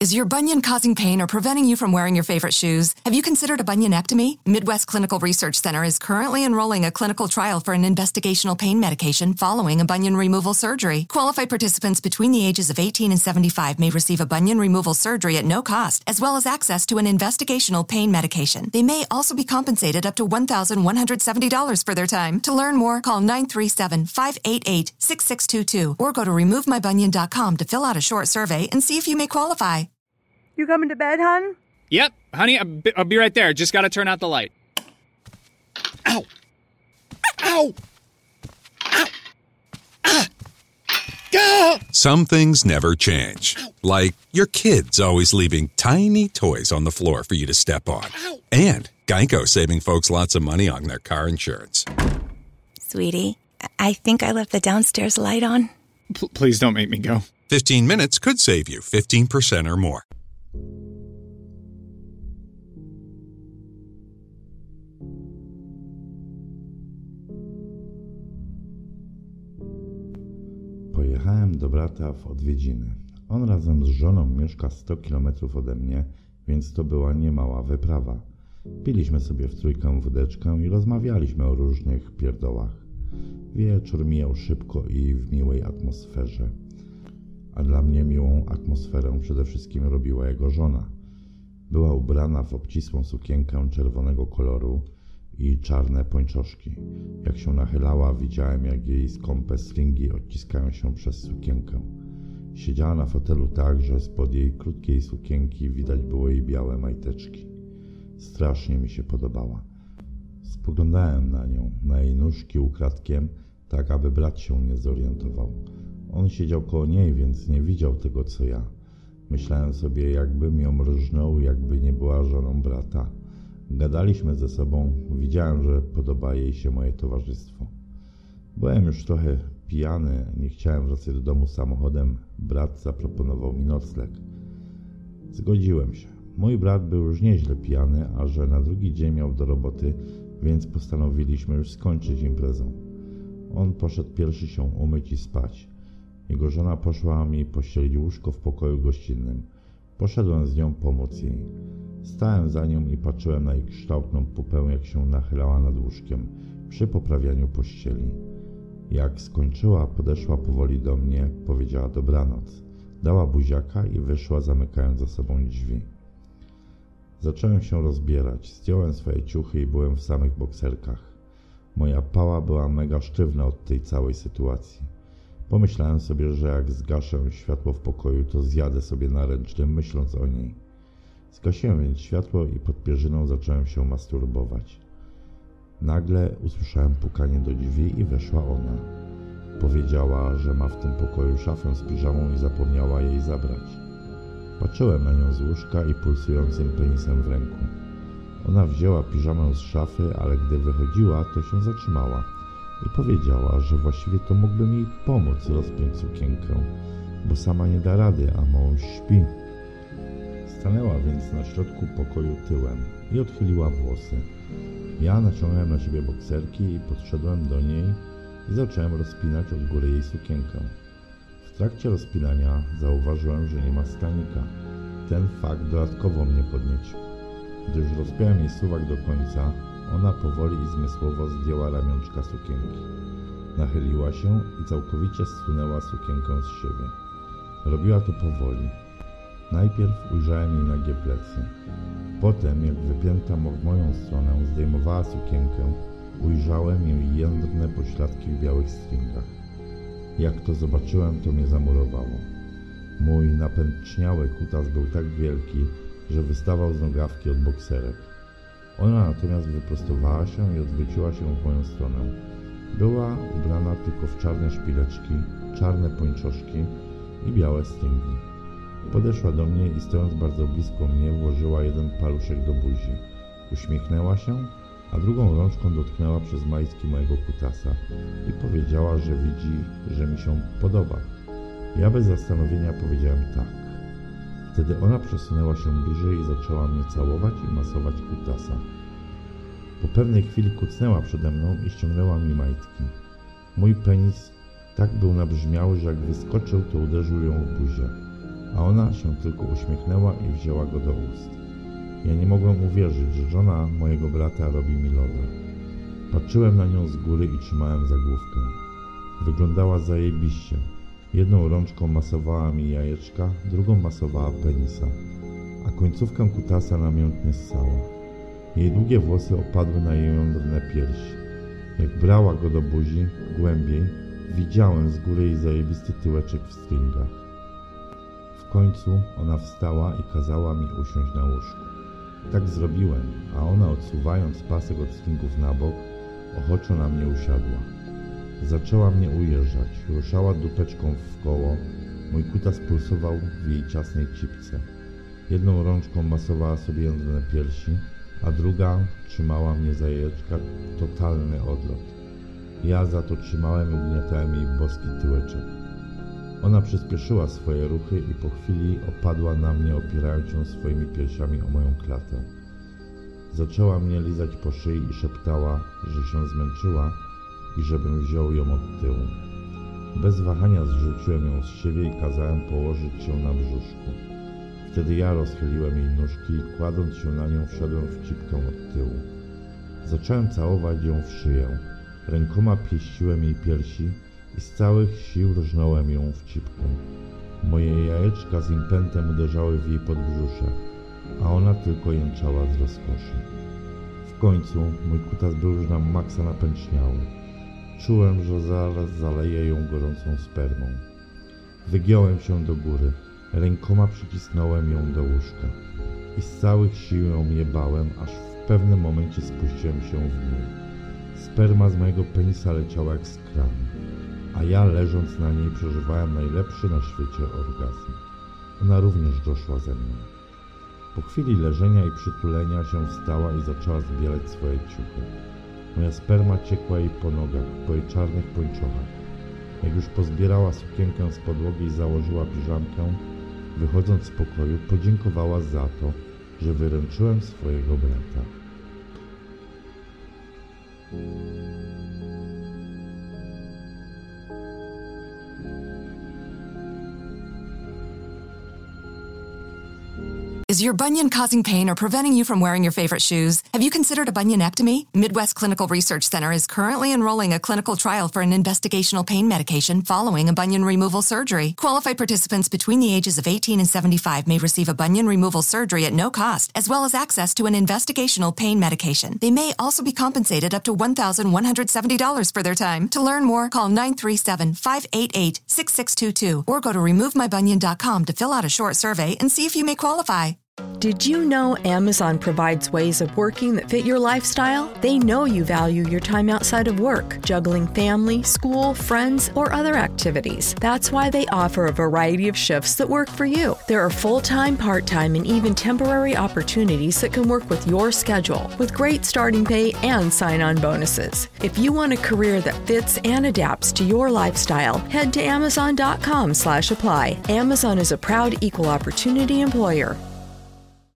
Is your bunion causing pain or preventing you from wearing your favorite shoes? Have you considered a bunionectomy? Midwest Clinical Research Center is currently enrolling a clinical trial for an investigational pain medication following a bunion removal surgery. Qualified participants between the ages of 18 and 75 may receive a bunion removal surgery at no cost, as well as access to an investigational pain medication. They may also be compensated up to $1,170 for their time. To learn more, call 937-588-6622 or go to removemybunion.com to fill out a short survey and see if you may qualify. You coming to bed, hon? Yep, honey, I'll be right there. Just gotta turn out the light. Ow! Ow! Ow! Ah! Ah! Some things never change. Like your kids always leaving tiny toys on the floor for you to step on. And Geico saving folks lots of money on their car insurance. Sweetie, I think I left the downstairs light on. Please don't make me go. 15 minutes could save you 15% or more. Pojechałem do brata w odwiedziny. On razem z żoną mieszka 100 km ode mnie, więc to była niemała wyprawa. Piliśmy sobie w trójkę wódeczkę i rozmawialiśmy o różnych pierdołach. Wieczór mijał szybko i w miłej atmosferze. A dla mnie miłą atmosferę przede wszystkim robiła jego żona. Była ubrana w obcisłą sukienkę czerwonego koloru i czarne pończoszki. Jak się nachylała, widziałem, jak jej skąpe stringi odciskają się przez sukienkę. Siedziała na fotelu tak, że spod jej krótkiej sukienki widać było jej białe majteczki. Strasznie mi się podobała. Spoglądałem na nią, na jej nóżki ukradkiem, tak aby brat się nie zorientował. On siedział koło niej, więc nie widział tego, co ja. Myślałem sobie, jakbym ją rżnął, jakby nie była żoną brata. Gadaliśmy ze sobą, widziałem, że podoba jej się moje towarzystwo. Byłem już trochę pijany, nie chciałem wracać do domu samochodem. Brat zaproponował mi nocleg. Zgodziłem się. Mój brat był już nieźle pijany, a że na drugi dzień miał do roboty, więc postanowiliśmy już skończyć imprezę. On poszedł pierwszy się umyć i spać. Jego żona poszła mi pościelić łóżko w pokoju gościnnym. Poszedłem z nią pomóc jej. Stałem za nią i patrzyłem na jej kształtną pupę, jak się nachylała nad łóżkiem przy poprawianiu pościeli. Jak skończyła, podeszła powoli do mnie, powiedziała dobranoc. Dała buziaka i wyszła, zamykając za sobą drzwi. Zacząłem się rozbierać. Zdjąłem swoje ciuchy i byłem w samych bokserkach. Moja pała była mega sztywna od tej całej sytuacji. Pomyślałem sobie, że jak zgaszę światło w pokoju, to zjadę sobie na ręcznym, myśląc o niej. Zgasiłem więc światło i pod pierzyną zacząłem się masturbować. Nagle usłyszałem pukanie do drzwi i weszła ona. Powiedziała, że ma w tym pokoju szafę z piżamą i zapomniała jej zabrać. Patrzyłem na nią z łóżka i pulsującym penisem w ręku. Ona wzięła piżamę z szafy, ale gdy wychodziła, to się zatrzymała i powiedziała, że właściwie to mógłbym jej pomóc rozpiąć sukienkę, bo sama nie da rady, a mąż śpi. Stanęła więc na środku pokoju tyłem i odchyliła włosy. Ja naciągnąłem na siebie bokserki i podszedłem do niej i zacząłem rozpinać od góry jej sukienkę. W trakcie rozpinania zauważyłem, że nie ma stanika. Ten fakt dodatkowo mnie podniecił. Gdy już rozpiąłem jej suwak do końca, ona powoli i zmysłowo zdjęła ramionczka sukienki. Nachyliła się i całkowicie zsunęła sukienkę z siebie. Robiła to powoli. Najpierw ujrzałem jej nagie plecy. Potem, jak wypięta w moją stronę zdejmowała sukienkę, ujrzałem jej jędrne pośladki w białych stringach. Jak to zobaczyłem, to mnie zamurowało. Mój napęczniały kutas był tak wielki, że wystawał z nogawki od bokserek. Ona natomiast wyprostowała się i odwróciła się w moją stronę. Była ubrana tylko w czarne szpileczki, czarne pończoszki i białe stringi. Podeszła do mnie i stojąc bardzo blisko mnie włożyła jeden paluszek do buzi. Uśmiechnęła się, a drugą rączką dotknęła przez majtki mojego kutasa i powiedziała, że widzi, że mi się podoba. Ja bez zastanowienia powiedziałem tak. Wtedy ona przesunęła się bliżej i zaczęła mnie całować i masować kutasa. Po pewnej chwili kucnęła przede mną i ściągnęła mi majtki. Mój penis tak był nabrzmiały, że jak wyskoczył, to uderzył ją w buzię. a ona się tylko uśmiechnęła i wzięła go do ust. Ja nie mogłem uwierzyć, że żona mojego brata robi mi loda. Patrzyłem na nią z góry i trzymałem za główkę. Wyglądała zajebiście. Jedną rączką masowała mi jajeczka, drugą masowała penisa, a końcówkę kutasa namiętnie ssała. Jej długie włosy opadły na jej jądrne piersi. Jak brała go do buzi, głębiej, widziałem z góry jej zajebisty tyłeczek w stringach. W końcu ona wstała i kazała mi usiąść na łóżku. Tak zrobiłem, a ona, odsuwając pasek od stringów na bok, ochoczo na mnie usiadła. Zaczęła mnie ujeżdżać, ruszała dupeczką w koło, mój kutas pulsował w jej ciasnej cipce. Jedną rączką masowała sobie jądrne piersi, a druga trzymała mnie za jajeczka, totalny odlot. Ja za to trzymałem i ugniatałem jej boski tyłeczek. Ona przyspieszyła swoje ruchy i po chwili opadła na mnie, opierając się swoimi piersiami o moją klatę. Zaczęła mnie lizać po szyi i szeptała, że się zmęczyła i żebym wziął ją od tyłu. Bez wahania zrzuciłem ją z siebie i kazałem położyć się na brzuszku. Wtedy ja rozchyliłem jej nóżki i kładąc się na nią wszedłem w cipkę od tyłu. Zacząłem całować ją w szyję. Rękoma pieściłem jej piersi i z całych sił rżnąłem ją w cipkę. Moje jajeczka z impetem uderzały w jej podbrzusze, a ona tylko jęczała z rozkoszy. W końcu mój kutas był już na maksa napęczniały. Czułem, że zaraz zaleję ją gorącą spermą. Wygiąłem się do góry. Rękoma przycisnąłem ją do łóżka i z całych sił ją jebałem, aż w pewnym momencie spuściłem się w dół. Sperma z mojego penisa leciała jak z kranu, a ja leżąc na niej przeżywałem najlepszy na świecie orgazm. Ona również doszła ze mną. Po chwili leżenia i przytulenia się wstała i zaczęła zbierać swoje ciuchy. Moja sperma ciekła jej po nogach, po jej czarnych pończochach. Jak już pozbierała sukienkę z podłogi i założyła piżamkę, wychodząc z pokoju, podziękowała za to, że wyręczyłem swojego brata. Is your bunion causing pain or preventing you from wearing your favorite shoes? Have you considered a bunionectomy? Midwest Clinical Research Center is currently enrolling a clinical trial for an investigational pain medication following a bunion removal surgery. Qualified participants between the ages of 18 and 75 may receive a bunion removal surgery at no cost, as well as access to an investigational pain medication. They may also be compensated up to $1,170 for their time. To learn more, call 937-588-6622 or go to removemybunion.com to fill out a short survey and see if you may qualify. Did you know Amazon provides ways of working that fit your lifestyle? They know you value your time outside of work, juggling family, school, friends, or other activities. That's why they offer a variety of shifts that work for you. There are full-time, part-time, and even temporary opportunities that can work with your schedule, with great starting pay and sign-on bonuses. If you want a career that fits and adapts to your lifestyle, head to Amazon.com/apply. Amazon is a proud equal opportunity employer.